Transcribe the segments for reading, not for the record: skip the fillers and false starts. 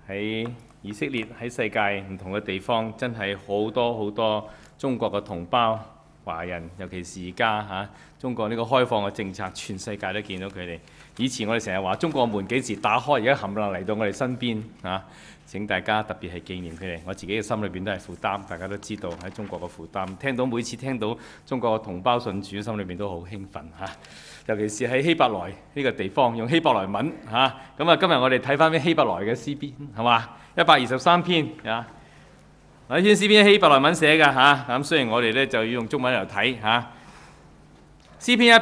喺以色列，喺世界唔同嘅地方，真係好多中國嘅同胞華人，尤其是而家中國呢個開放嘅政策，全世界都見到佢哋。以前我哋成日話中國門幾時打開，而家冚唪唥嚟到我哋身邊請大家特別係紀念佢哋。我自己嘅心裏邊都係負擔，大家都知道喺中國嘅負擔。每次聽到中國嘅同胞信主，心裏邊都好興奮尤其是喺希伯來呢個地方，用希伯來文咁啊，今日我哋睇翻啲希伯來嘅詩篇，係嘛？123篇呢篇詩篇希伯來文寫㗎咁雖然我哋咧就要用中文嚟睇詩篇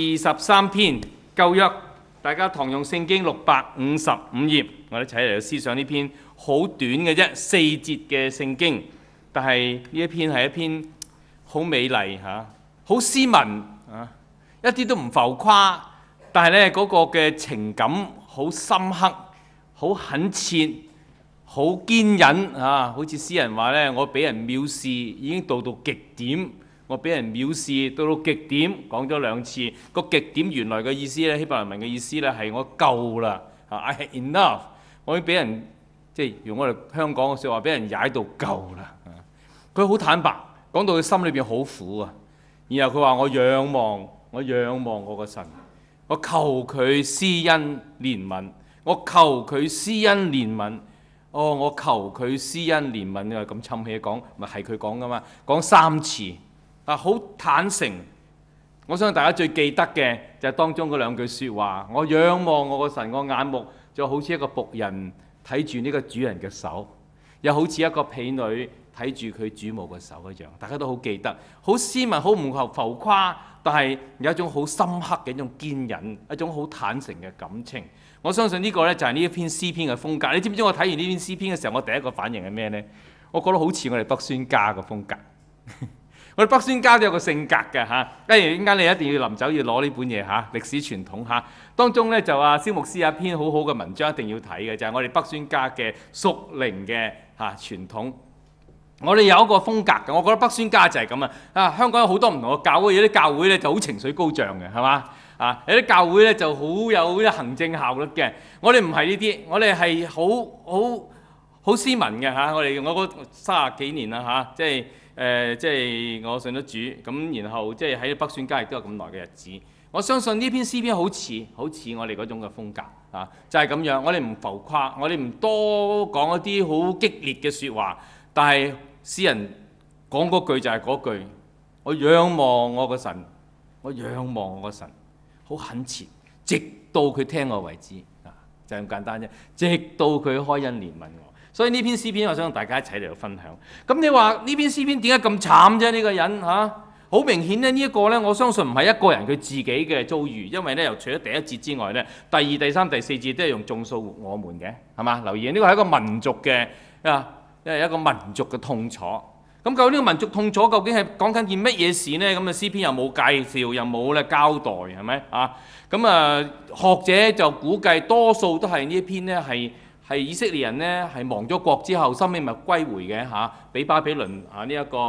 123篇舊約，大家堂用聖經655頁，我哋一齊嚟思想呢篇好短嘅啫，4節嘅聖經，但係呢一篇係一篇好美麗好斯文一啲都唔浮誇，但係咧嗰個嘅情感好深刻、好懇切、好堅忍好似詩人話咧，我俾人藐視已經到極點，我俾人藐視到極點，講咗2次。個極點原來嘅意思咧，希伯來文嘅意思咧係我夠啦，I had enough， 我已經俾人即係用我哋香港嘅説話，俾人踩到夠啦。佢好坦白，講到佢心裏邊好苦然後佢話我仰望我個神，我求佢施恩憐憫，我求佢施恩憐憫。我求佢施恩憐憫，你話咁侵氣講，咪係佢講噶嘛？講3次好坦誠。我相信大家最記得嘅就係當中嗰2句説話。我仰望我個神，我眼目就好似一個僕人睇住呢個主人嘅手，又好似一個婢女睇住佢主母嘅手一樣。大家都好記得，好斯文，好唔浮誇，但係有一種好深刻嘅一種堅忍，一種好坦誠嘅感情。我相信呢個呢就係呢一篇詩篇嘅風格。你知唔知我睇完呢篇詩篇嘅時候，我第一個反應係咩呢？我覺得好似我哋北宣家嘅風格。我哋北宣家都有個性格嘅點解你一定要臨走要攞呢本嘢歷史傳統當中呢，就蕭牧師有一篇好好嘅文章一定要睇嘅，就係我哋北宣家嘅屬靈嘅傳統。我哋有一個風格嘅，我覺得北宣家就係咁香港有好多唔同嘅教會，有啲教會呢就好情緒高漲嘅，係嘛？有啲教會咧就好有啲行政效率嘅，我哋唔係呢啲，我哋係好斯文嘅我嗰30幾年啦即係我信得主咁，然後即係喺北宣家亦都有咁耐嘅日子。我相信呢篇詩篇好似我哋嗰種嘅風格就係咁樣。我哋唔浮誇，我哋唔多講一啲好激烈嘅説話，但係詩人講嗰句就係嗰句：我仰望我個神，我仰望我個神。好懇切，直到佢聽我為止就係咁簡單啫。直到佢開恩憐憫我，所以呢篇詩篇我想大家一齊嚟到分享。咁你話呢篇詩篇點解咁慘啫？呢個人好明顯咧，呢一個呢，我相信唔係一個人佢自己嘅遭遇，因為呢，又除咗第1節之外呢，第2、第3、第4節都係用眾數我們嘅，係嘛？留意呢個係一個民族嘅一個民族嘅痛楚。咁究竟呢個民族痛楚究竟係講緊件乜嘢事呢？咁詩篇又冇介紹，又冇交代，係咪學者就估計多數都係呢一篇呢係以色列人呢係亡咗國之後，收尾咪歸回嘅俾巴比倫呢一個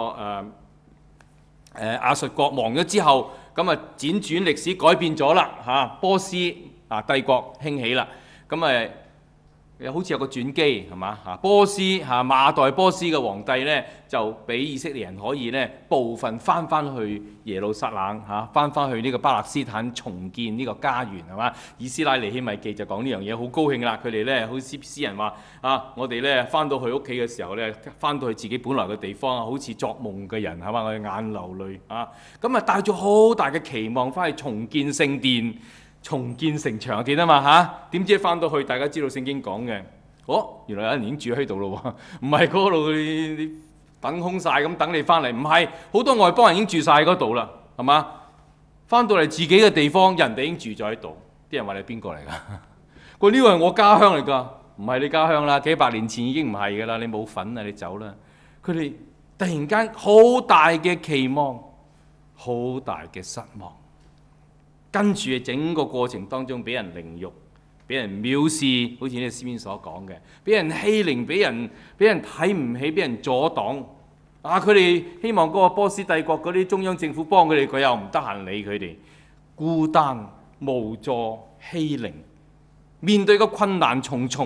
亞述國亡咗之後，咁輾轉歷史改變咗啦波斯帝國興起啦，咁好似有個轉機係嘛？波斯馬代波斯嘅皇帝呢，就俾以色列人可以呢部分翻去耶路撒冷翻去呢個巴勒斯坦重建呢個家園係嘛？以斯拉尼希米記就講呢樣嘢，好高興啦！佢哋呢，好似詩人話我哋呢翻到去屋企嘅時候呢，翻到去自己本來嘅地方好似作夢嘅人係嘛？我哋眼流淚咁帶咗好大嘅期望翻去重建聖殿。重建城牆記得嘛點知翻到去，大家知道聖經講嘅，原來有人已經住喺度咯喎，唔係嗰度你等空晒咁等你翻嚟，唔係，好多外邦人已經住晒嗰度啦，係嘛？翻到嚟自己嘅地方，人哋已經住咗喺度，啲人話你邊個嚟㗎？佢呢個係我家鄉嚟㗎，唔係你家鄉啦，幾百年前已經唔係㗎啦，你冇份啊，你走啦。佢哋突然間好大嘅期望，好大嘅失望。跟住整個過程當中，俾人凌辱，俾人藐視，好似呢個詩篇所講嘅，俾人欺凌，俾人睇唔起，俾人阻擋。佢哋希望嗰個波斯帝國嗰啲中央政府幫佢哋，佢又唔得閒理佢哋，孤單無助、欺凌，面對個困難重重，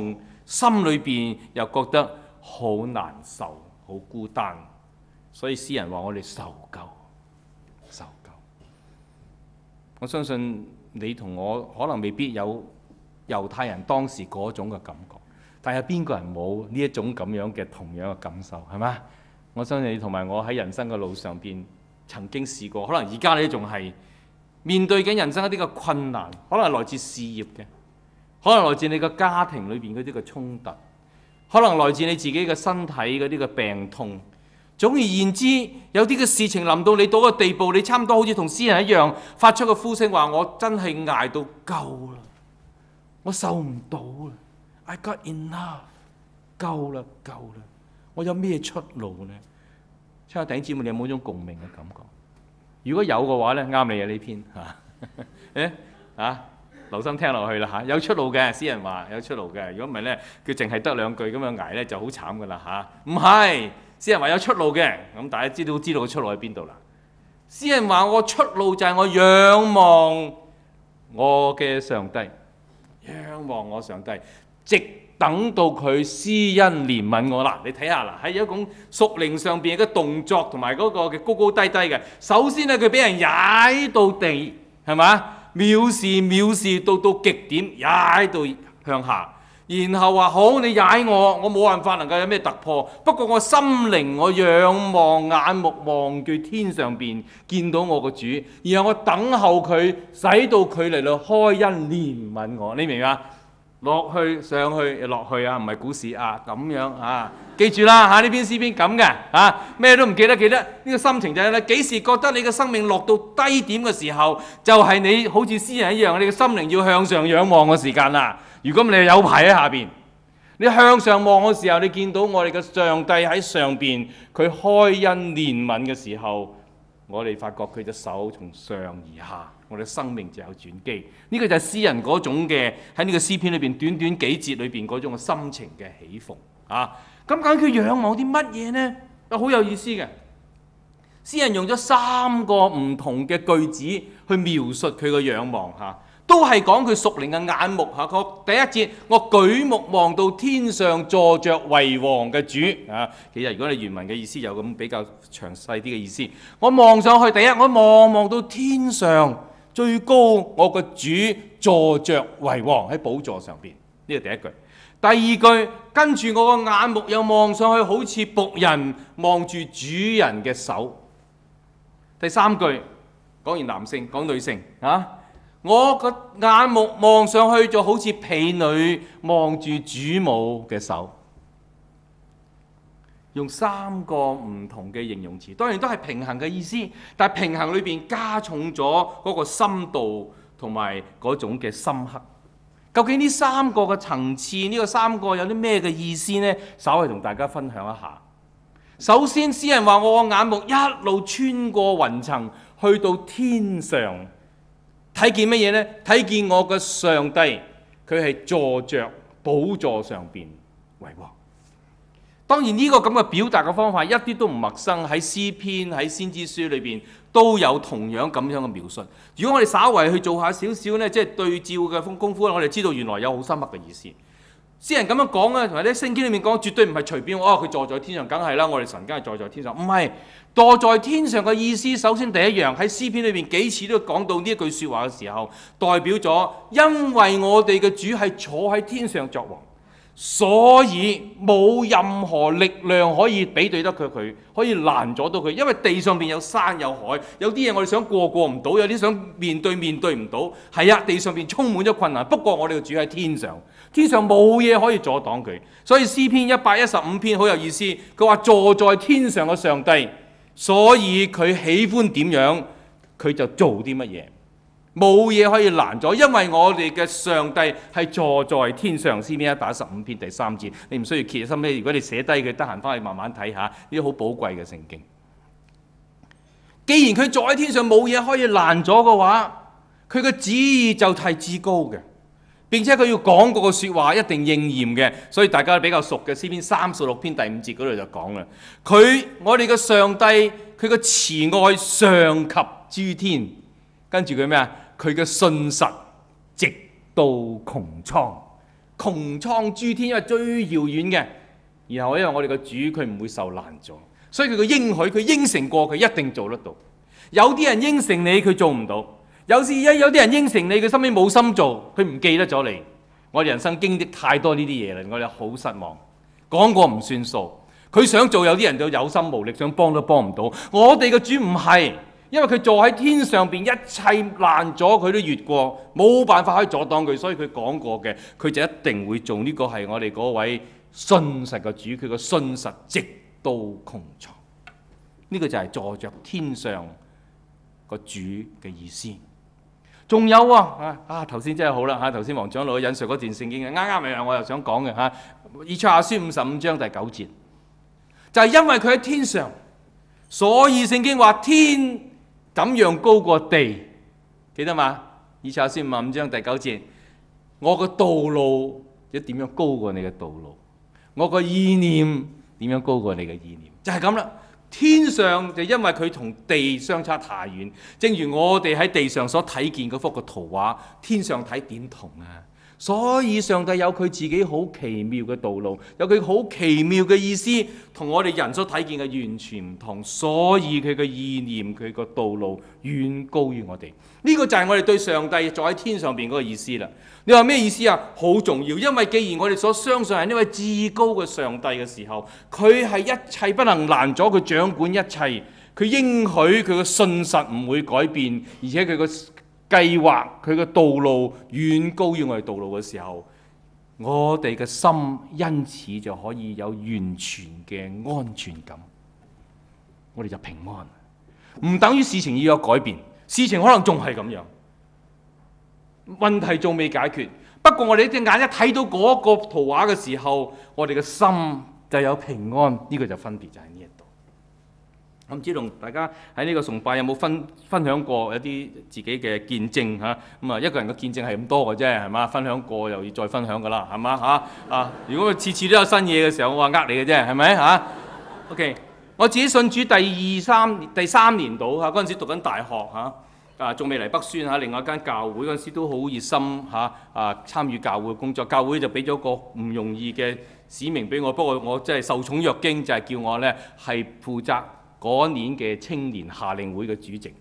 心裏邊又覺得好難受、好孤單，所以詩人話我哋受夠，受夠。我相信你同我可能未必有猶太人當時嗰種嘅感覺，但係邊個人冇呢一種咁樣嘅同樣嘅感受，係嘛？我相信你同埋我喺人生嘅路上邊曾經試過，可能而家你仲係面對緊人生一啲嘅困難，可能係來自事業嘅，可能來自你嘅家庭裏邊嗰啲嘅衝突，可能來自你自己嘅身體嗰啲嘅病痛。總而言之，有啲嘅事情臨到你到個地步，你差唔多好似同詩人一樣，發出個呼聲話：我真係捱到夠啦，我受唔到啦 ，I got enough， 夠啦，夠啦，我有咩出路呢？親愛的弟兄姊妹，你有冇種共鳴嘅感覺？如果有嘅話咧，啱你啊呢篇嚇，留心聽落去啦嚇，有出路嘅，詩人話有出路嘅。如果唔係咧，佢淨係得兩句咁樣捱咧，就好慘噶啦嚇。唔係，詩人話有出路嘅，咁大家知道個出路喺邊度啦。詩人話我出路就係我仰望我嘅上帝，仰望我上帝，直等到佢施恩憐憫我啦。你睇下啦，喺一種屬靈上邊嘅動作同埋嗰個嘅高高低低嘅。首先咧，佢俾人踩到地，係嘛？藐視到極點，踩到向下。然後話好，你踩我冇辦法能夠有咩突破。不過我心靈我仰望，眼目望住天上邊，見到我個主，然後我等候佢，使到佢嚟到開恩憐憫我。你明嘛？落去上去又落去啊，唔係股市啊，咁樣啊，記住啦嚇，呢篇詩篇咁嘅嚇，咩都唔記得，記得呢個心情就係咧，幾時覺得你嘅生命落到低點嘅時候，就係你好似詩人一樣，你嘅心靈要向上仰望嘅時間啦。如果唔係有排喺下邊，你向上望嘅時候，你見到我哋嘅上帝喺上邊，佢開恩憐憫嘅時候，我哋發覺佢隻手從上而下。我哋生命就有轉機，呢個就係詩人嗰種嘅喺呢個詩篇裏邊短短幾節裏邊嗰種嘅心情嘅起伏啊！咁究竟佢仰望啲乜嘢呢？好有意思嘅，詩人用咗3個唔同嘅句子去描述佢嘅仰望嚇，都係講佢屬靈嘅眼目嚇。第一節，我舉目望到天上坐着為王嘅主啊！其實如果你原文嘅意思有咁比較詳細啲嘅意思，我望上去，第一我望到天上。最高我個主坐着為王喺寶座上邊，呢個第一句。第二句，跟住我個眼目又望上去，好似僕人望住主人嘅手。第三句講完男性，講女性啊，我個眼目望上去就好似婢女望住主母嘅手。用3個唔同嘅形容詞，當然都係平衡嘅意思，但係平衡裏邊加重咗嗰個深度同埋嗰種嘅深刻。究竟呢3個嘅層次，呢個3個有啲咩嘅意思呢？稍微同大家分享一下。首先，詩人話我個眼目一路穿過雲層去到天上，睇見乜嘢呢？睇見我嘅上帝，佢係坐着寶座上邊為王。當然呢個咁嘅表達嘅方法一啲都唔陌生，喺詩篇喺先知書裏邊都有同樣咁樣嘅描述。如果我哋稍為去做下少少呢，即係對照嘅功夫，我哋知道原來有好深刻嘅意思。詩人咁樣講咧，同埋啲聖經裏面講，絕對唔係隨便佢坐在天上，梗係啦，我哋神梗係坐在天上。唔係，坐在天上嘅意思，首先第一樣喺詩篇裏邊幾次都講到呢一句説話嘅時候，代表咗因為我哋嘅主係坐喺天上作王。所以冇任何力量可以比對得佢，可以攔阻到佢。因為地上邊有山有海，有啲嘢我哋想過唔到，有啲想面對唔到。係啊，地上邊充滿咗困難。不過我哋嘅主喺天上，天上冇嘢可以阻擋佢。所以詩篇115篇好有意思，佢話坐在天上嘅上帝，所以佢喜歡點樣，佢就做啲乜嘢。冇嘢可以攔阻，因為我哋嘅上帝係坐在天上。詩篇115篇第3節，你唔需要揭心咧。如果你寫低佢，得閒翻去慢慢睇下，呢啲好寶貴嘅聖經。既然佢坐喺天上，冇嘢可以攔阻嘅話，佢嘅旨意就係至高嘅，並且佢要講嗰個説話一定應驗嘅。所以大家比較熟嘅詩篇36篇第5節嗰度就講啦，我哋嘅上帝，佢嘅慈愛上及諸天，跟住佢咩啊？佢嘅信實直到穹蒼穹蒼諸天，因為最遙遠嘅。然後因為我哋嘅主佢唔會受攔阻，所以佢嘅應許佢應承過，佢一定做得到。有啲人應承你佢做唔到，有啲人應承你佢心裏冇心做，佢唔記得咗你。我哋人生經歷太多呢啲嘢啦，我哋好失望。講過唔算數，佢想做，有啲人就有心無力，想幫都幫唔到。我哋嘅主唔係，因為佢坐喺天上邊，一切攔阻佢都越過，冇辦法可以阻擋佢，所以佢講過嘅，佢就一定會做。呢個係我哋嗰位信實嘅主，佢個信實直到穹蒼。呢個就係坐着天上個主嘅意思。仲有頭先真係好啦嚇，頭先黃長老引述嗰段聖經嘅，啱咪我又想講嘅嚇，以賽亞書55章第9節，就係因為佢喺天上，所以聖經話天怎樣高過地，記得嘛？以賽亞書55章第9節，我個道路一點樣高過你嘅道路，我個意念點樣高過你嘅意念，就係咁啦。天上就因為佢同地相差太遠，正如我哋喺地上所睇見嗰幅個圖畫，天上睇點同啊？所以上帝有佢自己好奇妙嘅道路，有佢好奇妙嘅意思，同我哋人所睇見嘅完全唔同。所以佢嘅意念，佢個道路遠高於我哋。呢個就係我哋對上帝坐喺天上邊嗰個意思啦。你話咩意思啊？好重要，因為既然我哋所相信係呢位至高嘅上帝嘅時候，佢係一切不能攔阻，佢掌管一切，佢應許佢嘅信實唔會改變，而且佢個計劃佢嘅道路遠高於我哋道路嘅時候，我哋嘅心因此就可以有完全嘅安全感，我哋就平安。唔等於事情要有改變，事情可能仲係咁樣，問題仲未解決。不過我哋隻眼一睇到嗰個圖畫嘅時候，我哋嘅心就有平安。呢個就分別就喺呢一度。我唔知同大家喺呢個崇拜有冇分享過一啲自己嘅見證嚇？咁啊，一個人嘅見證係咁多嘅啫，係嘛？分享過又要再分享噶啦，係嘛嚇？如果佢次次都有新嘢嘅時候，我話呃你嘅啫，係咪嚇？OK， 我自己信主第三年到嚇，嗰陣時讀緊大學嚇，仲未嚟北宣嚇，另外一間教會嗰陣時都好熱心嚇，參與教會嘅工作，教會就俾咗個唔容易嘅使命俾我，不過我真係受寵若驚，就係叫我呢係負責嗰年嘅青年夏令會嘅主席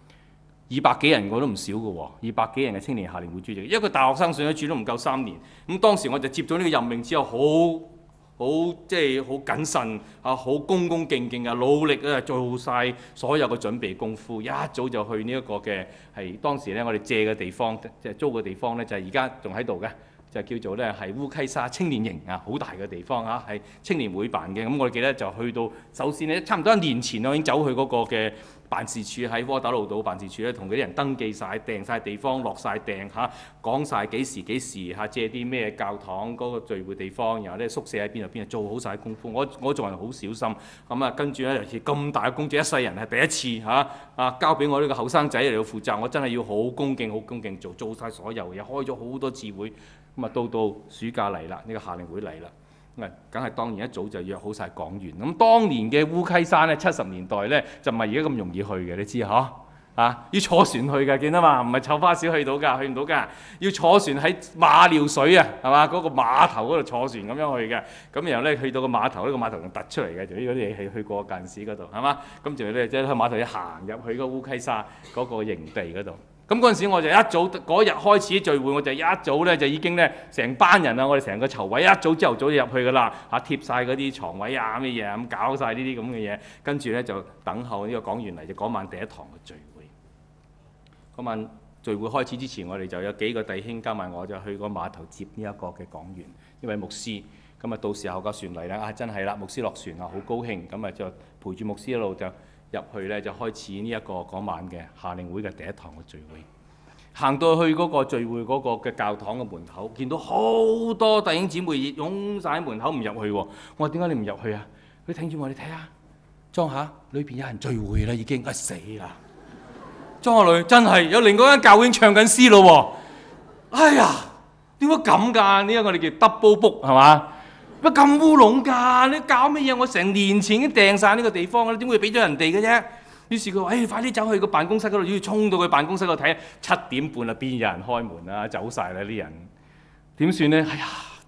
，200幾人我都唔少嘅喎，200幾人嘅青年夏令會主席，一個大學生信咗主都唔夠3年，咁當時我就接咗呢個任命之後，即係好謹慎好恭恭敬敬努力做晒所有嘅準備功夫，一早就去呢一個嘅係當時咧我哋借嘅地方，即係租嘅地方咧，就係而家仲喺度嘅。就叫做咧係烏溪沙青年營好大嘅地方係青年會辦嘅。咁我記得就去到，首先咧差唔多1年前我已經走去嗰個嘅辦事處，喺窩打老道辦事處咧，同嗰啲人登記晒、訂晒地方、落晒訂講晒幾時借啲咩教堂嗰個聚會地方，然後咧宿舍喺邊度，做好晒功夫。我做人好小心，跟住咧尤其咁大嘅工作，一世人係第一次交俾我呢個後生仔嚟到負責，我真係要好恭敬做晒所有嘢，開咗好多次會。咁到暑假嚟啦，呢個夏令會嚟啦，梗係當然一早就約好晒講員。咁當年嘅烏溪山咧，70年代咧就唔係而家咁容易去嘅，你知嚇要坐船去嘅，見到嘛？唔係湊花小去到㗎，去唔到㗎，要坐船喺馬料水啊，係嘛？嗰個碼頭嗰度坐船咁樣去嘅。咁然後咧去到個碼頭，呢個碼頭仲突出嚟嘅，就呢啲嘢係去過近市嗰度，係嘛？咁就咧即係喺碼頭一行入去嗰烏溪沙嗰個營地嗰度。咁嗰陣時我就一早嗰日開始聚會，我就一早咧就已經咧成班人我哋成個籌委一早朝頭早就入去噶啦貼晒嗰啲床位乜嘢咁搞晒呢啲咁嘅嘢，跟住咧就等候呢個講員嚟，就嗰晚第一堂嘅聚會。嗰晚聚會開始之前，我哋就有幾個弟兄加埋我就去個碼頭接呢一個嘅講員，一位牧師。咁到時候個船嚟啦，真係啦，牧師落船好高興，咁就陪住牧師一路就入去咧，就開始呢一個嗰晚嘅夏令會嘅第一堂嘅聚會。行到去嗰個聚會嗰個嘅教堂嘅門口，見到好多弟兄姊妹擁晒喺門口唔入去喎。我話點解你唔入去啊？佢聽住我，你睇下，裝下裏邊有人聚會啦，已經死啦！裝下裏真係有另外一間教會唱緊詩咯喎。哎呀，點解咁㗎？呢個我哋叫 double book 係嘛？乜咁烏龍㗎？你搞乜嘢？我成年前已經訂晒呢個地方啦，點會俾咗人哋嘅啫？於是佢話：快啲走去個辦公室嗰度，要衝到佢辦公室度睇。7點半啦，邊有人開門啊？走晒啦啲人，點算呢？哎呀，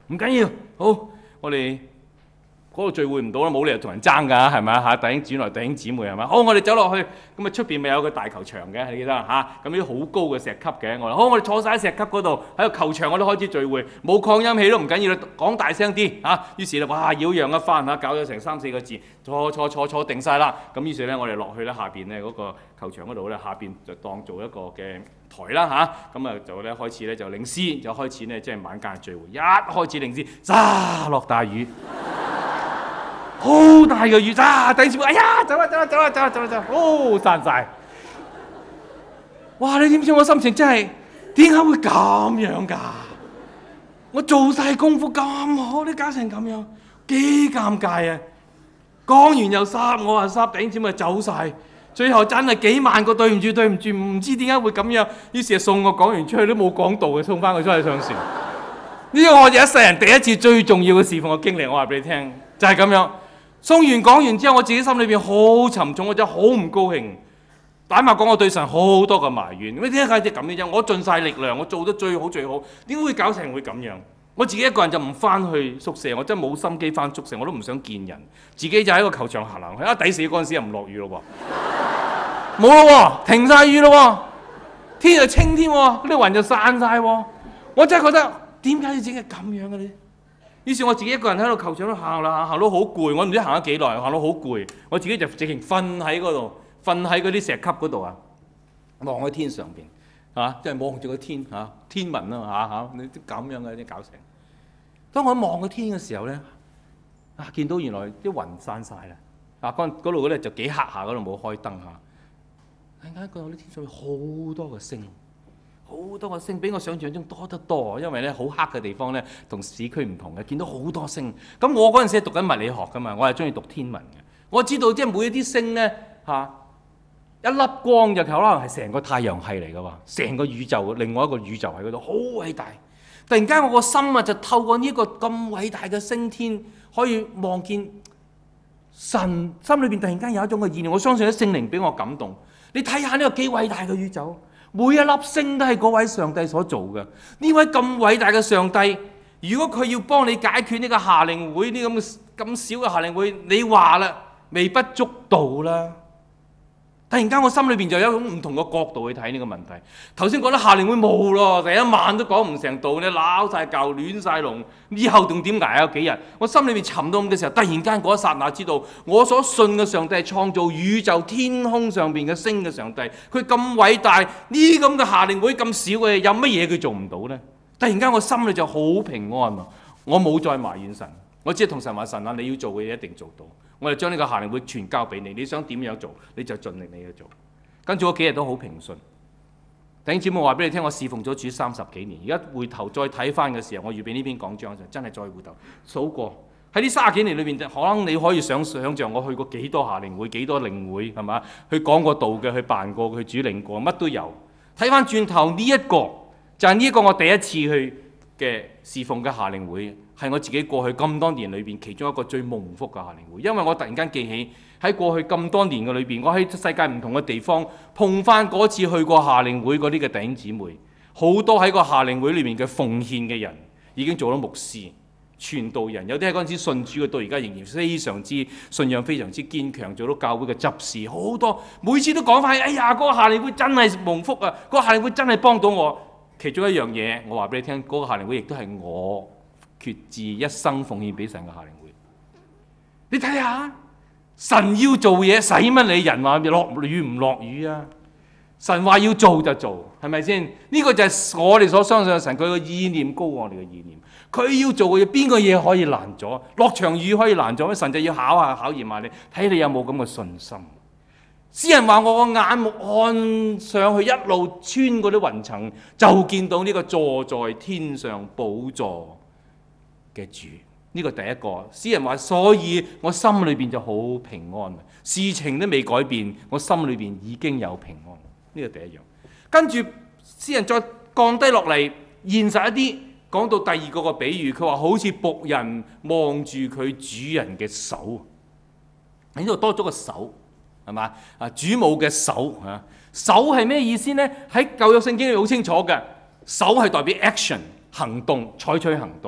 唔緊要，好，我哋嗰度聚會唔到啦，冇理由同人爭㗎，係咪啊？弟兄姊妹，弟兄姊妹係咪？好，我哋走落去，咁啊出邊咪有個大球場嘅，你記得嚇？咁啲好高嘅石級嘅，我話好，我哋坐晒喺石級嗰度，喺個球場我都開始聚會，冇擴音器都唔緊要啦，講大聲啲嚇。於是咧，哇，擾攘一番嚇，搞咗成3、4個字，坐定晒啦。咁於是咧，我哋落去咧下邊咧嗰個球場嗰度咧，下邊就當做一個嘅台啦嚇。咁啊就咧開始咧就領詩，就開始咧即係晚間聚會。一開始領詩，咋落大雨。好大嘅雨咋，弟兄姊妹，哎呀，走啦，哦，散晒。哇！你點知我心情真係點解會咁樣㗎？我做晒功夫咁好，你搞成咁樣，幾尷尬啊！講完又濕，我話濕，弟兄姊妹走晒。最後真係幾萬個對唔住，唔知點解會咁樣。於是就送我講完出去都冇講道嘅，送翻佢出去上船。呢個我哋一世人第一次最重要嘅侍奉嘅經歷，我話俾你聽，就係咁樣。送完講完之後，我自己心裏邊好沉重，我真係好唔高興。坦白講，我對神好多個埋怨。你點解咁嘅啫？我盡晒力量，我做得最好，點解會搞成會咁樣？我自己一個人就唔翻去宿舍，我真係冇心機翻宿舍，我都唔想見人，自己就喺個球場行去。抵死嗰陣時又唔落雨咯喎，冇咯喎，停晒雨咯喎，天就清添喎，嗰啲雲就散晒喎。我真係覺得點解要整係咁樣嘅咧？於是我自己一個人喺度球場度行啦，行到好攰，我唔知行咗幾耐，行到好攰，我自己就直情瞓喺嗰度，瞓喺嗰啲石級嗰度啊，望喺天上邊嚇，即係望住個天嚇，天文啊嚇，你啲咁樣嘅啲搞成。當我望個天嘅時候咧，見到原來啲雲散晒啦，嗰度咧就幾黑下，嗰度冇開燈嚇。突然間覺得啲天上面好多個星。好多個星，比我想象中多得多。因為咧好黑嘅地方咧，同市區唔同嘅，見到好多星。咁我嗰陣時係讀緊物理學噶嘛，我係中意讀天文嘅。我知道即係每一啲星咧一粒光就可能係成個太陽系嚟噶喎，成個宇宙，另外一個宇宙喺嗰度，好偉大。突然間我個心就透過呢個咁偉大嘅星天，可以望見神心裏邊突然間有一種嘅意念。我相信啲聖靈俾我感動。你睇下呢個幾偉大嘅宇宙。每一粒星都係嗰位上帝所做嘅。呢位咁偉大嘅上帝，如果佢要幫你解決呢個夏令會呢咁少嘅夏令會，你話啦，微不足道啦。突然間我心裏邊就有一種唔同嘅角度去睇呢個問題。頭先覺得夏令會冇咯，第一晚都講唔成道，你鬧晒舊亂晒龍，以後仲點捱啊？幾日？我心裏邊沉到咁嘅時候，突然間嗰一剎那知道，我所信嘅上帝係創造宇宙天空上邊嘅星嘅上帝，佢咁偉大，呢咁嘅夏令會咁少嘅，有乜嘢佢做唔到呢？突然間我心裏就好平安啊！我冇再埋怨神，我只係同神話，神啊，你要做嘅嘢一定做到。我哋將呢個夏令會全交俾你，你想點樣做你就盡力你去做。跟住嗰幾日都好平順。弟兄姊妹，我話俾你聽，我侍奉咗主30幾年，而家回頭再睇翻嘅時候，我預備呢篇講章就真係再回頭數過喺呢30幾年裏邊，可能你可以想像我去過幾多夏令會、幾多靈會係嘛？去講過道嘅，去辦過，去主領過，乜都有。睇翻轉頭呢一個就係呢一個我第一次去嘅侍奉嘅夏令會。係我自己過去咁多年裏邊其中一個最蒙福嘅夏令會，因為我突然間記起喺過去咁多年嘅裏邊，我喺世界唔同嘅地方碰翻嗰次去過夏令會嗰啲嘅弟兄姊妹，好多喺個夏令會裏面嘅奉獻嘅人已經做咗牧師、傳道人，有啲喺嗰陣時信主嘅，到而家仍然非常之信仰非常之堅強，做到教會嘅執事，好多每次都講翻，哎呀，嗰個夏令會真係蒙福啊！嗰個夏令會真係幫到我。其中一樣嘢，我話俾你聽，嗰個夏令會亦都係我決志一生奉獻俾神嘅夏令會。你睇下，神要做嘢，使乜你人話落雨唔落雨啊？神話要做就做，係咪先？呢個就係我哋所相信嘅神，佢個意念高過我哋嘅意念。佢要做嘅嘢，邊個嘢可以難咗？落場雨可以難咗咩？神就要考驗下你，睇你有冇咁嘅信心。詩人話：我個眼目看上去，一路穿嗰啲雲層，就見到呢個坐在天上寶座嘅主。呢個第一個。詩人話：所以我心裏邊就好平安，事情都未改變，我心裏邊已經有平安。呢個第一樣。跟住詩人再降低落嚟，現實一啲，講到第二個比喻，佢話好似僕人望住佢主人嘅手，喺呢度多咗個手。係嘛？主母嘅手嚇，手係咩意思呢？喺舊約聖經裏好清楚嘅，手係代表 action 行動，採取行動。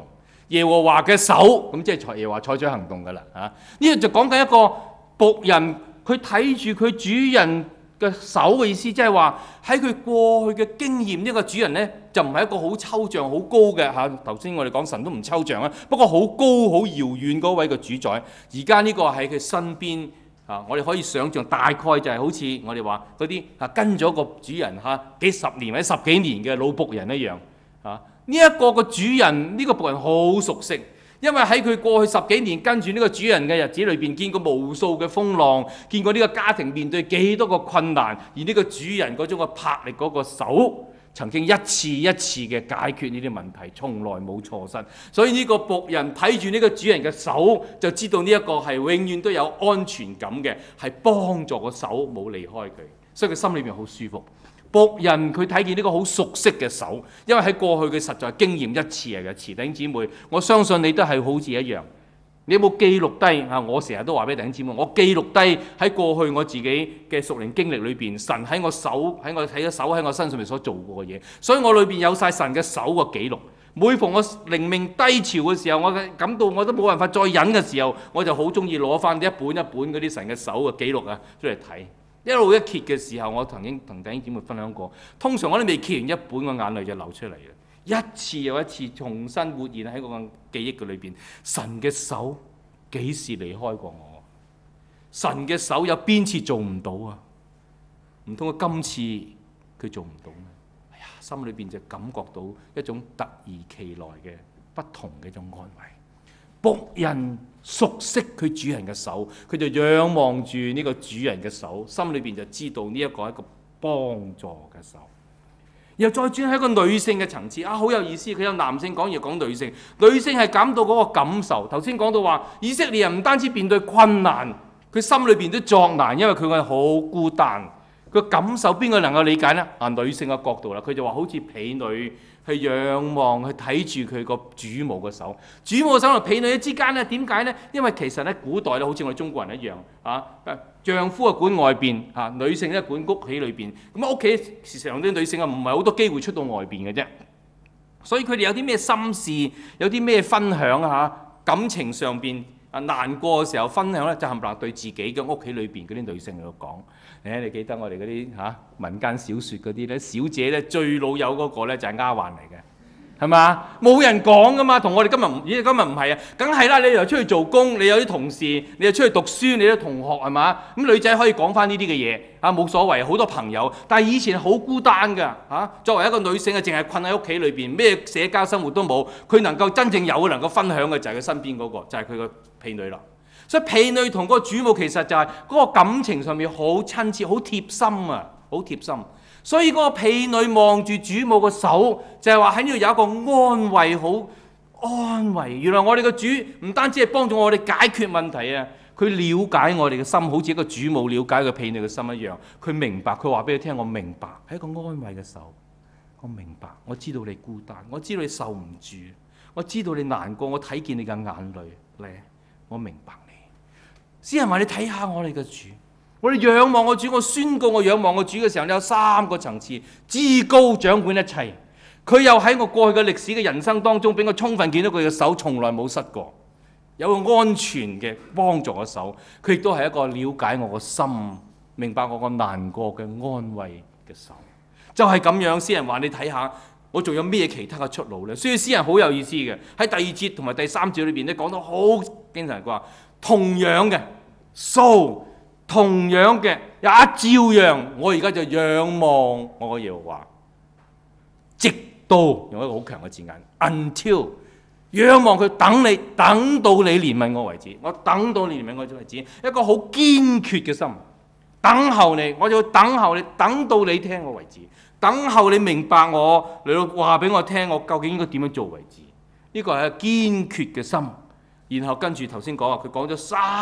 耶和華嘅手，咁即係耶和華採取行動㗎啦嚇。呢個就講緊一個僕人，佢睇住佢主人嘅手嘅意思，即係話喺佢過去嘅經驗，呢個主人呢，就唔係一個好抽象、好高嘅嚇。頭先我哋講神都唔抽象啊，不過好高、好遙遠嗰位嘅主宰。而家呢個喺佢身邊啊，我哋可以想象大概就係好似我哋話嗰啲跟咗個主人幾十年或者十幾年嘅老僕人一樣啊。呢一個個主人，呢個僕人好熟悉。因為喺佢過去十幾年跟住呢個主人嘅日子裏邊，見過無數嘅風浪，見過呢個家庭面對幾多個困難，而呢個主人嗰種嘅魄力嗰個手，曾經一次一次嘅解決呢啲問題，從來冇錯失。所以呢個僕人睇住呢個主人嘅手，就知道呢一個係永遠都有安全感嘅，係幫助個手冇離開佢，所以佢心裏邊好舒服。僕人佢睇見呢個好熟悉嘅手，因為喺過去佢實在經驗一次嘅。弟兄姊妹，我相信你都係好似一樣。你有冇記錄低啊？我成日都話俾弟兄姊妹，我記錄低喺過去我自己嘅屬靈經歷裏邊，神喺我手喺我睇咗手喺我身上面所做過嘅嘢，所以我裏邊有晒神嘅手嘅記錄。每逢我靈命低潮嘅時候，我感到我都冇辦法再忍嘅時候，我就好中意攞翻一本一本嗰啲神嘅手嘅記錄啊出嚟睇。一路一揭嘅時候，我曾經同弟兄姊妹分享過，通常我都未揭完一本，個眼淚就流出嚟啦。一次又一次重新活現喺個記憶嘅裏邊，神嘅手幾時離開過我？神嘅手有邊次做唔到啊？唔通佢今次佢做唔到咩？哎呀，心裏邊就感覺到一種突如其來嘅不同嘅一種安慰。僕人熟悉佢主人嘅手，佢就仰望住呢個主人嘅手，心裏邊就知道呢一個係一個幫助嘅手。然後再轉喺一個女性嘅層次，好有意思。佢有男性講，又講女性。女性係感到嗰個感受。頭先講到話，以色列人唔單止面對困難，佢心裏邊都作難，因為佢係好孤單。佢感受邊個能夠理解呢？女性嘅角度啦，佢就話好似婢女去仰望，去睇住佢個主母嘅手。主母嘅手同婢女之間咧，點解呢？因為其實咧，古代咧，好似我哋中國人一樣丈夫啊管外邊女性咧管屋企裏邊。咁屋企事實上啲女性唔係好多機會出到外邊嘅啫。所以佢哋有啲咩心事，有啲咩分享感情上邊難過嘅時候分享咧，就冚唪唥對自己嘅屋企裏邊嗰啲女性嚟講。你記得我哋嗰啲民間小説嗰啲咧，小姐咧最老友嗰個咧就係丫鬟嚟嘅，係嘛？冇人講噶嘛，同我哋今日唔係啊，梗係啦！你又出去做工，你有啲同事，你又出去讀書，你啲同學係嘛？咁女仔可以講翻呢啲嘅嘢冇所謂，好多朋友。但係以前好孤單㗎作為一個女性淨係困喺屋企裏邊，咩社交生活都冇，佢能夠真正有能夠分享嘅就係佢身邊嗰個，就係佢個婢女啦。所以婢女同個主母其實就係嗰個感情上面好親切、好貼心啊，好貼心。所以嗰個婢女望住主母個手，就係話喺呢度有一個安慰，好安慰。原來我哋個主唔單止係幫助我哋解決問題啊，佢了解我哋嘅心，好似一個主母了解個婢女嘅心一樣。佢明白，佢話俾你聽，我明白，係一個安慰嘅手。我明白，我知道你孤單，我知道你受唔住，我知道你難過，我睇見你嘅眼淚咧，我明白你。詩人話：你睇下我哋嘅主，我哋仰望我主，我宣告我仰望我主嘅時候，你有三個層次，至高掌管一切。佢又喺我過去嘅歷史嘅人生當中，俾我充分見到佢嘅手從來冇失過，有個安全嘅幫助嘅手。佢亦都係一個了解我個心，明白我個難過嘅安慰嘅手。就係咁樣，詩人話：你睇下我仲有咩其他嘅出路呢？所以詩人好有意思嘅，喺第二節同埋第三節裏邊咧講到好經常話。同樣嘅同樣嘅也照樣，我而家就仰望我嘅耶和華，直到用一個好強嘅字眼 ，until 仰望佢等到你憐憫我為止，我等到你憐憫我為止，一個好堅決嘅心，等候你，我就等候你，等到你聽我為止，等候你明白我，你話俾我聽，我究竟應該點樣做為止？呢個係一個堅決嘅心。然後跟住頭先講佢講咗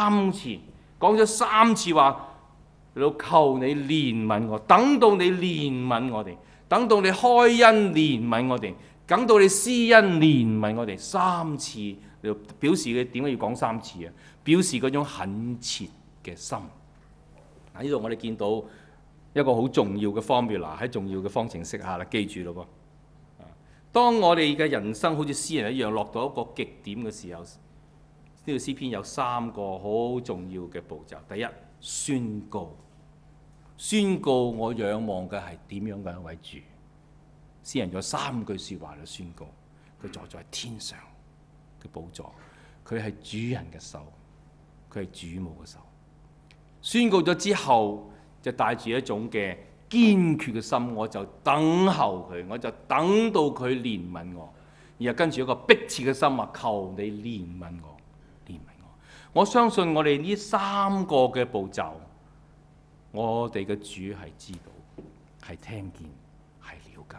三次話，你求你憐憫我，等到你憐憫我哋，等到你開恩憐憫我哋，等到你施恩憐憫我哋，三次你表示佢點解要講三次啊？表示嗰種懇切嘅心。嗱，呢度我哋見到一個好重要嘅 formula 喺重要嘅方程式下啦，記住咯噃。 當我哋嘅人生好似詩人一樣落到一個極點嘅時候，呢個詩篇有3個好重要嘅步驟。第一，宣告，宣告我仰望嘅係點樣嘅一位主。詩人有3句説話嚟宣告，佢坐在天上嘅寶座，佢係主人嘅手，佢係主母嘅手。宣告咗之後，就帶住一種嘅堅決嘅心，我就等候佢，我就等到佢憐憫我，然後跟住一個迫切嘅心話，求你憐憫我，憐憫我。我相信我哋呢3個嘅步驟，我哋嘅主係知道，係聽見，係了解。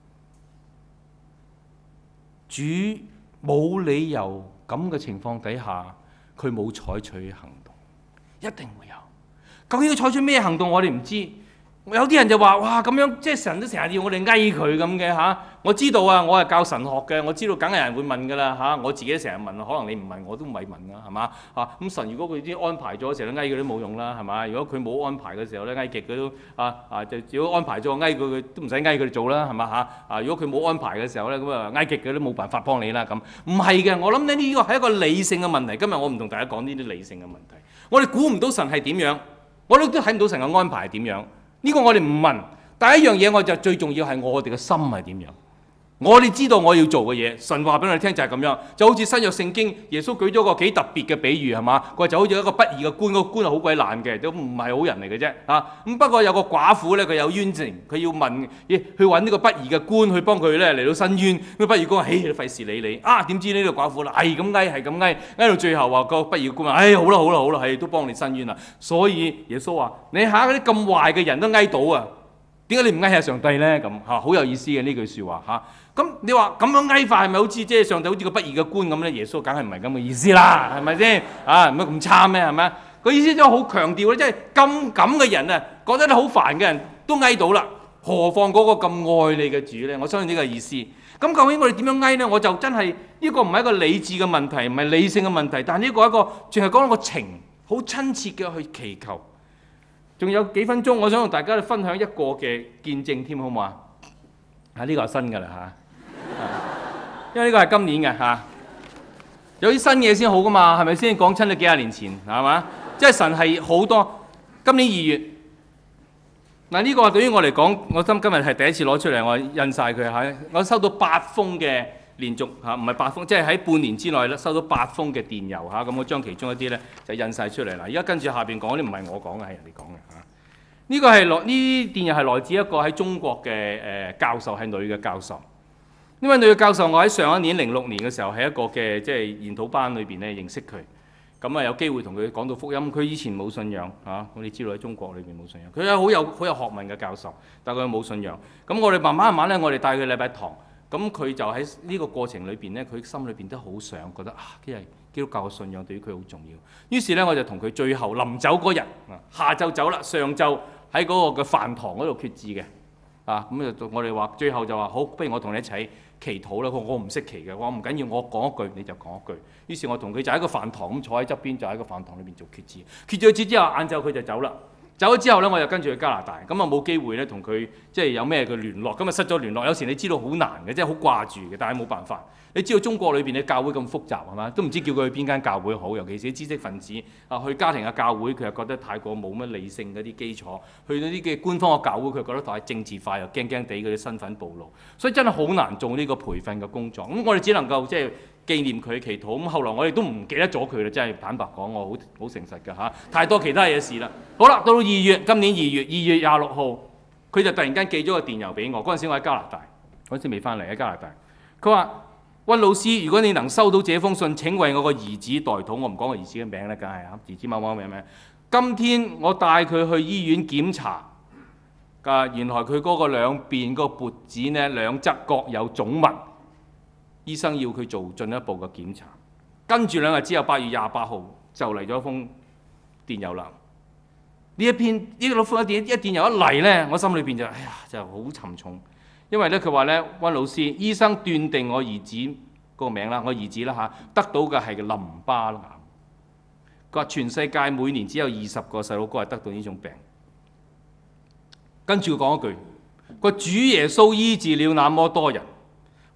主冇理由咁嘅情況底下，佢冇採取行動，一定會有。究竟要採取咩行動，我哋唔知。有啲人就話：哇，咁樣即係神都成日要我哋翳佢咁嘅嚇。我知道啊，我係教神學嘅，我知道梗係有人會問㗎啦嚇。我自己成日問，可能你唔問我都唔係問啦，係嘛嚇？咁神如果佢已經安排咗，成日都翳佢都冇用啦，係嘛？如果佢冇安排嘅時候咧，翳極佢都就如果安排咗翳佢都唔使翳佢哋做啦，係嘛嚇？如果佢冇安排嘅時候咧，咁翳極佢都冇辦法幫你啦咁。唔係嘅，我諗咧呢個係一個理性嘅問題。今日我唔同大家講呢啲理性嘅問題。我哋估唔到神係點樣，我哋都睇唔到神嘅安排係點樣。呢個我哋唔問，但係一樣嘢我就最重要係我哋嘅心係點樣。我哋知道我要做嘅嘢，神話俾我哋聽就係咁樣。就好似新約聖經，耶穌舉咗個幾特別嘅比喻係嘛？佢就好似一個不義嘅官，個官係好鬼爛嘅，都唔係好人嚟嘅啫嚇。咁不過有個寡婦咧，佢有冤情，佢要問去揾呢個不義嘅官去幫佢咧嚟到申冤。咁不義官話：嘿，費事理你啊！點知呢個寡婦啦，係咁翳，係咁翳，翳到最後話個不義嘅官話：好啦好啦好啦，係都幫你申冤啦。所以耶穌話：你下嗰啲咁壞嘅人都翳到啊！點解你唔翳下上帝咧？咁嚇好有意思嘅呢句説話嚇。咁你話咁樣翳法係咪好似即係上帝好似個不義嘅官咁咧？耶穌梗係唔係咁嘅意思啦，係咪先？唔係咁差咩？係咪？個意思就好強調咧，即係咁嘅人啊，覺得你好煩嘅人都翳到啦，何況嗰個咁愛你嘅主咧？我相信呢個意思。咁究竟我哋點樣翳咧？我就真係呢個唔係一個理智嘅問題，唔係理性嘅問題，但係呢個一個淨係講一個情，好親切嘅去祈求。仲有幾分鐘，我想同大家分享一個嘅見證添，好唔好啊？呢個係新㗎啦嚇，因為呢個係今年嘅嚇，有啲新嘢先好㗎嘛，係咪先？講親都幾廿年前係嘛？即係神係好多。今年2月嗱，呢個對於我嚟講，我今日係第一次攞出嚟，我印晒佢嚇。我收到8封嘅連續嚇，唔係8封，即係喺半年之內咧收到8封嘅電郵嚇。咁我將其中一啲咧就印晒出嚟啦。而家跟住下邊講啲唔係我講嘅，係人哋講嘅嚇。呢個係呢電郵係來自一個喺中國嘅教授，係女嘅教授。呢位女嘅教授，我喺上一年06年嘅時候喺一個嘅即係研討班裏邊咧認識佢。咁啊有機會同佢講到福音。佢以前冇信仰嚇，我哋知道喺中國裏邊冇信仰。佢係好有學問嘅教授，但係佢冇信仰。咁我哋慢慢咧，我哋帶佢禮拜堂。咁佢就喺呢個過程裏邊咧，佢心裏邊都好想覺得因為基督教嘅信仰對於佢好重要。於是咧，我就同佢最後臨走嗰日下晝走啦，上晝喺嗰個嘅飯堂嗰度決志嘅。咁就我哋話最後就話好，不如我同你一齊祈禱啦。我唔識祈嘅，我唔緊要，我講一句你就講一句。於是，我同佢就喺個飯堂咁坐喺側邊，就喺個飯堂裏邊做決志。決咗志之後，晏晝佢就走啦。走咗之後咧，我就跟住去加拿大，咁啊冇機會咧同佢即係有咩嘅聯絡，咁啊失咗聯絡。有時你知道好難嘅，即係好掛住嘅，但係冇辦法。你知道中國裏邊嘅教會咁複雜係嘛？都唔知叫佢去邊間教會好，尤其是啲知識分子去家庭嘅教會，佢又覺得太過冇乜理性嗰啲基礎；去到啲嘅官方嘅教會，佢覺得太政治化，又驚驚地嗰啲身份暴露，所以真係好難做呢個培訓嘅工作。咁我哋只能夠即係紀念佢祈禱。咁後來我哋都唔記得咗佢啦，真係坦白講，我好誠實㗎嚇，太多其他嘢事啦。好啦，到2月，今年2月26號，佢就突然間寄咗個電郵俾我。嗰陣時我喺加拿大，嗰陣時未翻嚟喺加拿大。佢話：溫老師，如果你能收到這封信，請為我個兒子代禱。我唔講個兒子嘅名啦，梗係兒子某某名。今天我帶佢去醫院檢查，原來佢嗰個兩邊個脖子呢兩側各有腫物，醫生要佢做進一步嘅檢查。跟住2日之後，8月28號就嚟咗封電郵啦。呢一電郵一嚟呢，我心裏邊就好沉重。因為咧，佢話咧，溫老師，醫生斷定我兒子嗰個名啦，我兒子啦得到嘅係淋巴癌。佢話全世界每年只有20個細路哥係得到呢種病。跟住佢講一句，佢話主耶穌醫治了那麼多人，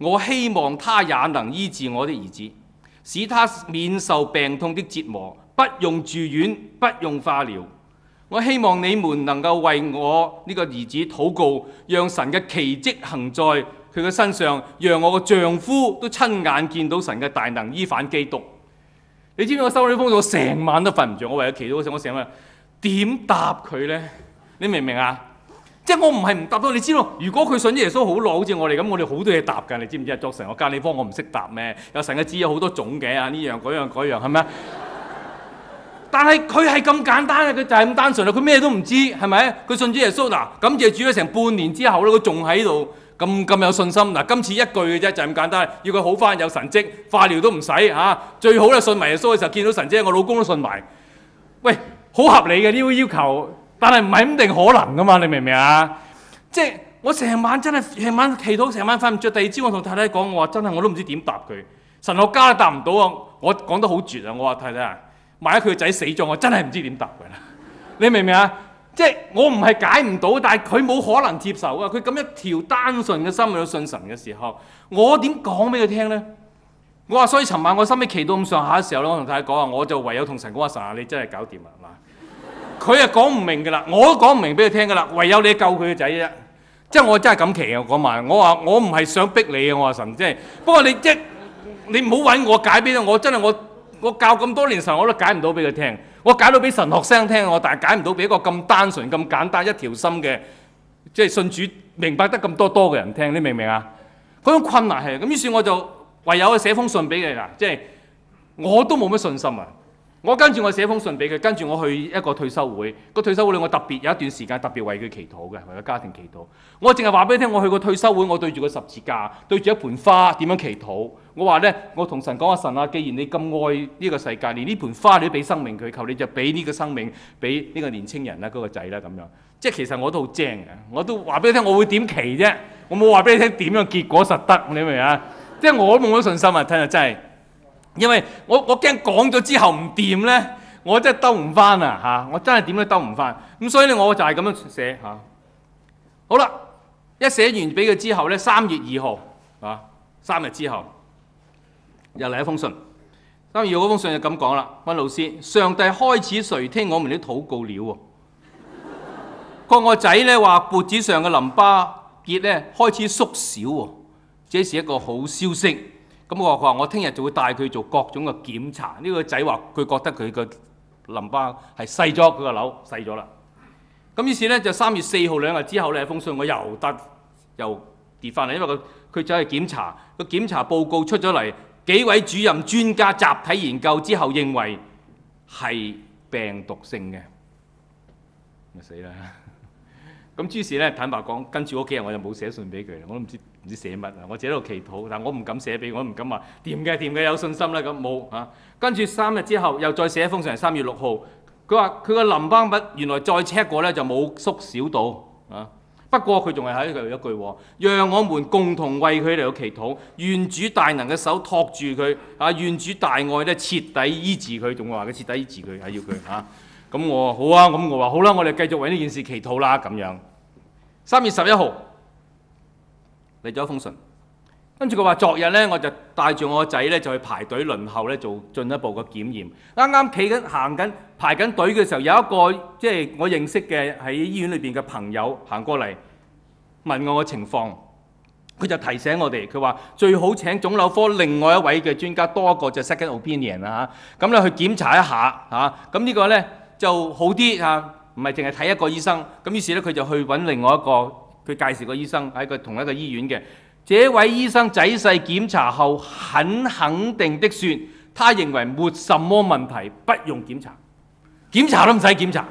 我希望他也能醫治我的兒子，使他免受病痛的折磨，不用住院，不用化療。我希望你們能夠為我呢個兒子禱告，讓神嘅奇蹟行在佢嘅身上，讓我嘅丈夫都親眼見到神嘅大能醫反基督。你知唔知我收到呢封信，我成晚都瞓唔着。我為咗祈禱嗰時，我成晚點答佢呢？你明唔明啊？即係我唔係唔答到，你知道，如果佢信耶穌好耐，好似我哋咁，我哋好多嘢答㗎。你知唔知啊？作成個教理科，我唔識答咩？有神嘅旨有好多種嘅啊，呢樣嗰樣嗰樣係咪啊？但係佢係咁簡單嘅，佢就係咁單純啦。佢咩都唔知係咪？佢信主耶穌嗱，感謝主咗成半年之後咧，佢仲喺度咁有信心嗱。今次一句嘅啫，就係咁簡單，要佢好翻有神蹟，化療都唔使嚇。最好咧信埋耶穌嘅時候見到神蹟，我老公都信埋。喂，好合理嘅呢個要求。但係唔係咁定可能噶嘛？你明唔明啊？即係我成晚真係成晚祈禱，成晚瞓唔着。第二朝我同太太講，我話真係我都唔知點答佢。神學家都答唔到啊！我講得好絕啊！我話太太啊，萬一佢個仔死咗，我真係唔知點答佢啦。你明唔明啊？即係我唔係解唔到，但係佢冇可能接受啊！佢咁一條單純嘅心去信神嘅時候，我點講俾佢聽咧？我話所以尋晚我心尾祈到咁上下嘅時候咧，我同太太講話，我就唯有同神講話，神啊，你真係搞掂啦嗱。佢係講唔明㗎啦，我都講唔明俾佢聽㗎啦，唯有你救佢個仔啫。即係我真係咁奇啊！嗰晚我話我唔係想逼你啊！我話神即係，不過你即係你唔好揾我解俾我真係我教咁多年神我都解唔到俾佢聽，我解到俾神學生聽我，但係解唔到俾一個咁單純咁簡單一條心嘅即係信主明白得咁多嘅人聽，你明唔明啊？嗰種困難係咁，於是我就唯有寫封信俾佢啦，即係我都冇乜信心啊！我跟住我寫封信俾佢，跟住我去一個退休會。個退休會我特別有一段時間特別為佢祈禱嘅，為佢家庭祈禱。我淨係話俾你聽，我去個退休會，我對住個十字架，對住一盆花點樣祈禱。我話呢，我同神講話，神啊，既然你咁愛呢個世界，連呢盆花你都俾生命佢，求你就俾呢個生命俾呢個年青人啦，嗰個仔啦咁樣。即係其實我都好精嘅，我都話俾你聽，我會點祈啫？我冇話俾你聽點樣結果實得，你明唔明啊？即係我都冇乜信心啊！聽日真係。因為我驚講咗之後唔掂呢，我真係兜唔翻啊嚇！我真係點都兜唔翻，咁所以咧我就係咁樣寫嚇。好啦，一寫完俾佢之後呢，3月2號啊，3日之後又嚟一封信。3月2號嗰封信就咁講啦，溫老師，上帝開始垂聽我們的禱告了喎。個我仔呢話脖子上嘅淋巴結呢開始縮小喎，這是一個好消息。咁佢話我聽日就會帶佢做各種嘅檢查。呢個仔話佢覺得佢個淋巴係細咗，佢個瘤細咗啦。咁於是咧就3月4號2日之後咧，封信我又跌翻嚟，因為佢走去檢查，個檢查報告出咗嚟，幾位主任專家集體研究之後認為係病毒性嘅，咪死啦！咁於是咧坦白講，跟住嗰幾日我就冇寫信俾佢，我都唔知寫乜啊！我自己喺度祈禱，但我唔敢寫俾佢，我唔敢話掂嘅有信心啦咁冇嚇。跟住3日之後又再寫一封信，3月6號，佢話佢個淋巴物原來再 check 過咧就冇縮小到啊。不過佢仲係喺度一句，讓我們共同為佢嚟到祈禱，願主大能嘅手托住佢啊！願主大愛咧徹底醫治佢，仲話佢徹底醫治佢係要佢嚇。咁我好啊，咁我話好啦，我哋繼續為呢件事祈禱啦咁樣。3月11號嚟咗一封信，跟住佢話昨日咧我就帶住我個仔咧就去排隊輪候咧做進一步嘅檢驗。啱啱企緊行緊排緊隊嘅時候，有一個即係我認識嘅喺醫院裏邊嘅朋友行過嚟問我嘅情況，佢就提醒我哋，佢話最好請腫瘤科另外一位嘅專家多一個就 second opinion 啊嚇，咁咧去檢查一下嚇，咁呢個咧就好啲嚇，唔係淨係睇一個醫生。咁於是咧佢就去揾另外一個佢介紹個醫生喺個同一個醫院嘅。這位醫生仔細檢查後，很肯定的說，他認為沒什麼問題，不用檢查，檢查都唔使檢查。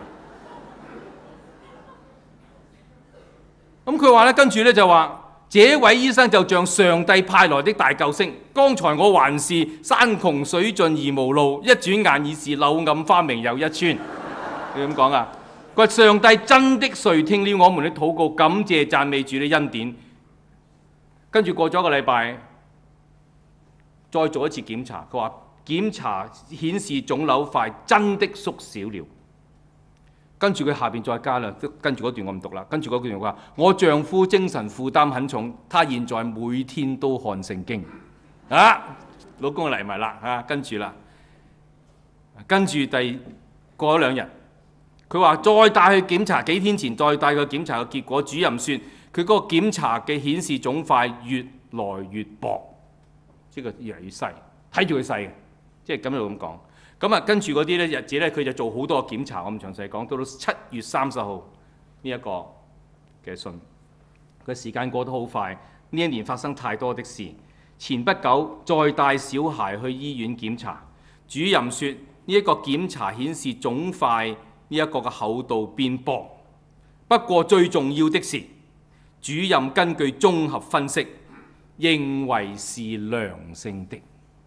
咁佢話咧，跟住咧就話，這位醫生就像上帝派來的大救星。剛才我還是山窮水盡而無路，一轉眼已是柳暗花明又一村。你咁講啊？佢話上帝真的垂聽了我們的禱告，感謝讚美主的恩典。跟住過咗一個禮拜，再做一次檢查。佢話檢查顯示腫瘤塊真的縮小了。 跟住佢下邊再加啦，跟住嗰段我唔讀啦。跟住嗰段話：我丈夫精神負擔很重，他現在每天都看聖經。啊，老公嚟埋啦嚇，跟住啦，跟住過咗2日，佢話再帶去檢查，幾天前再帶佢檢查嘅結果，主任說佢嗰個檢查嘅顯示腫塊越來越薄，即係越嚟越細，睇住佢細嘅，即係咁樣咁講。咁啊，跟住嗰啲咧日子咧，佢就做好多檢查，我唔詳細講。到7月30號呢一個嘅信，個時間過得好快。呢一年發生太多的事。前不久再帶小孩去醫院檢查，主任說呢一個檢查顯示腫塊呢一個嘅厚度變薄。不過最重要的是，主任根據綜合分析，認為是良性的。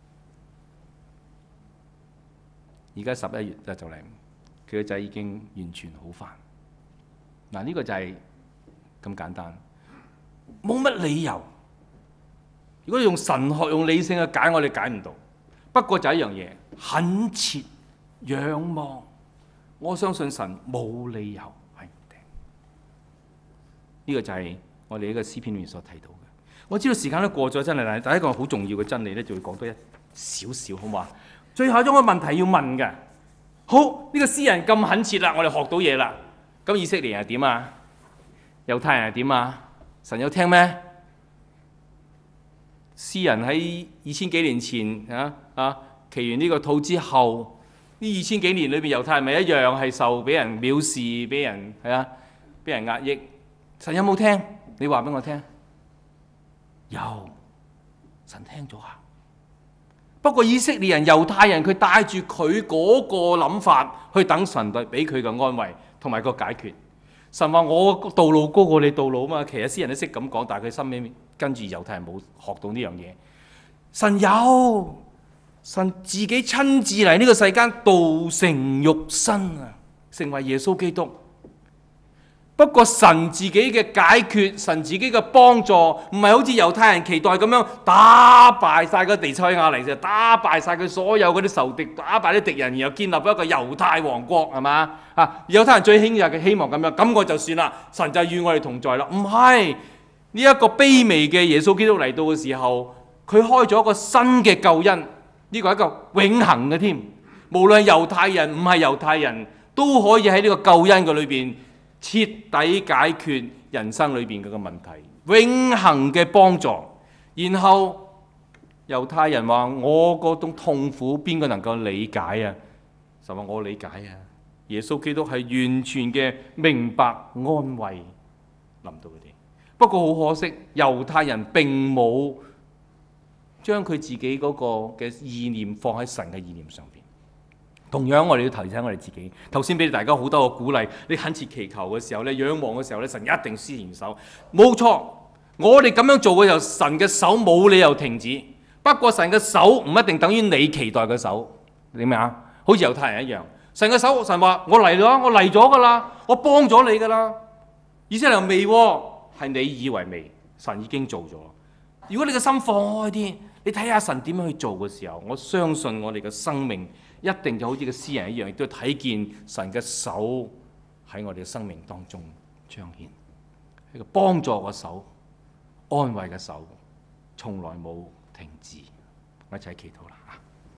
而家11月就嚟，佢個仔已經完全好返。嗱，呢個就係咁簡單，冇乜理由。如果用神學、用理性去解，我哋解唔到。不過就一樣嘢，懇切仰望，我相信神冇理由係唔定。呢個就係我哋呢個詩篇裏面所提到嘅。我知道時間都過咗，真係，但係第一個好重要嘅真理咧，就會講多一少少，好嘛？最後一個問題要問嘅，好，呢個詩人咁懇切啦，我哋學到嘢啦。咁以色列人係點啊？猶太人係點啊？神有聽咩？詩人喺2000幾年前祈完呢個禱之後，呢2000幾年裏邊，猶太人咪一樣係受俾人藐視，俾人俾人壓抑。神有冇聽？你話俾我聽。有，神聽咗啊。不過以色列人、猶太人，佢帶住佢嗰個諗法去等神對俾佢嘅安慰同埋個解決。神話我道路高過你道路啊嘛。其實詩人都識咁講，但係佢心裏面跟住猶太人冇學到呢樣嘢。神有，神自己親自嚟呢個世間，道成肉身啊，成為耶穌基督。不過神自己嘅解決，神自己嘅幫助，唔係好似猶太人期待咁樣打敗晒個地塞亞嚟，就打敗晒佢所有嗰啲仇敵，打敗啲敵人，然後建立一個猶太王國，係嘛？猶太人最興嘅希望咁樣，咁我就算啦，神就與我哋同在啦。唔係，呢一個卑微嘅耶穌基督嚟到嘅時候，佢開咗一個新嘅救恩，呢個係一個永恆嘅添。無論猶太人唔係猶太人都可以喺呢個救恩嘅裏邊徹底解決人生裏邊嗰個問題，永恆嘅幫助。然後猶太人話：我嗰種痛苦邊個能夠理解啊？就話我理解啊！耶穌基督係完全嘅明白安慰臨到佢哋。不過好可惜，猶太人並冇將佢自己嗰個嘅意念放喺神嘅意念上邊。同樣，我哋要提醒我哋自己。頭先俾大家好多個鼓勵，你懇切祈求嘅時候咧，仰望嘅時候咧，神一定施援手。冇錯，我哋咁樣做嘅時候，神嘅手冇理由停止。不過神嘅手唔一定等於你期待嘅手，你明啊？好似猶太人一樣，神嘅手，神話我嚟啦，我嚟咗噶啦，我幫咗你噶啦。以色列人未喎，係你以為未，神已經做咗。如果你嘅心放開啲，你睇下神點樣去做嘅時候，我相信我哋嘅生命一定就好似個詩人一樣，亦都睇見神嘅手喺我哋嘅生命當中彰顯，一個幫助嘅手、安慰嘅手，從來冇停止。我一齊祈禱啦。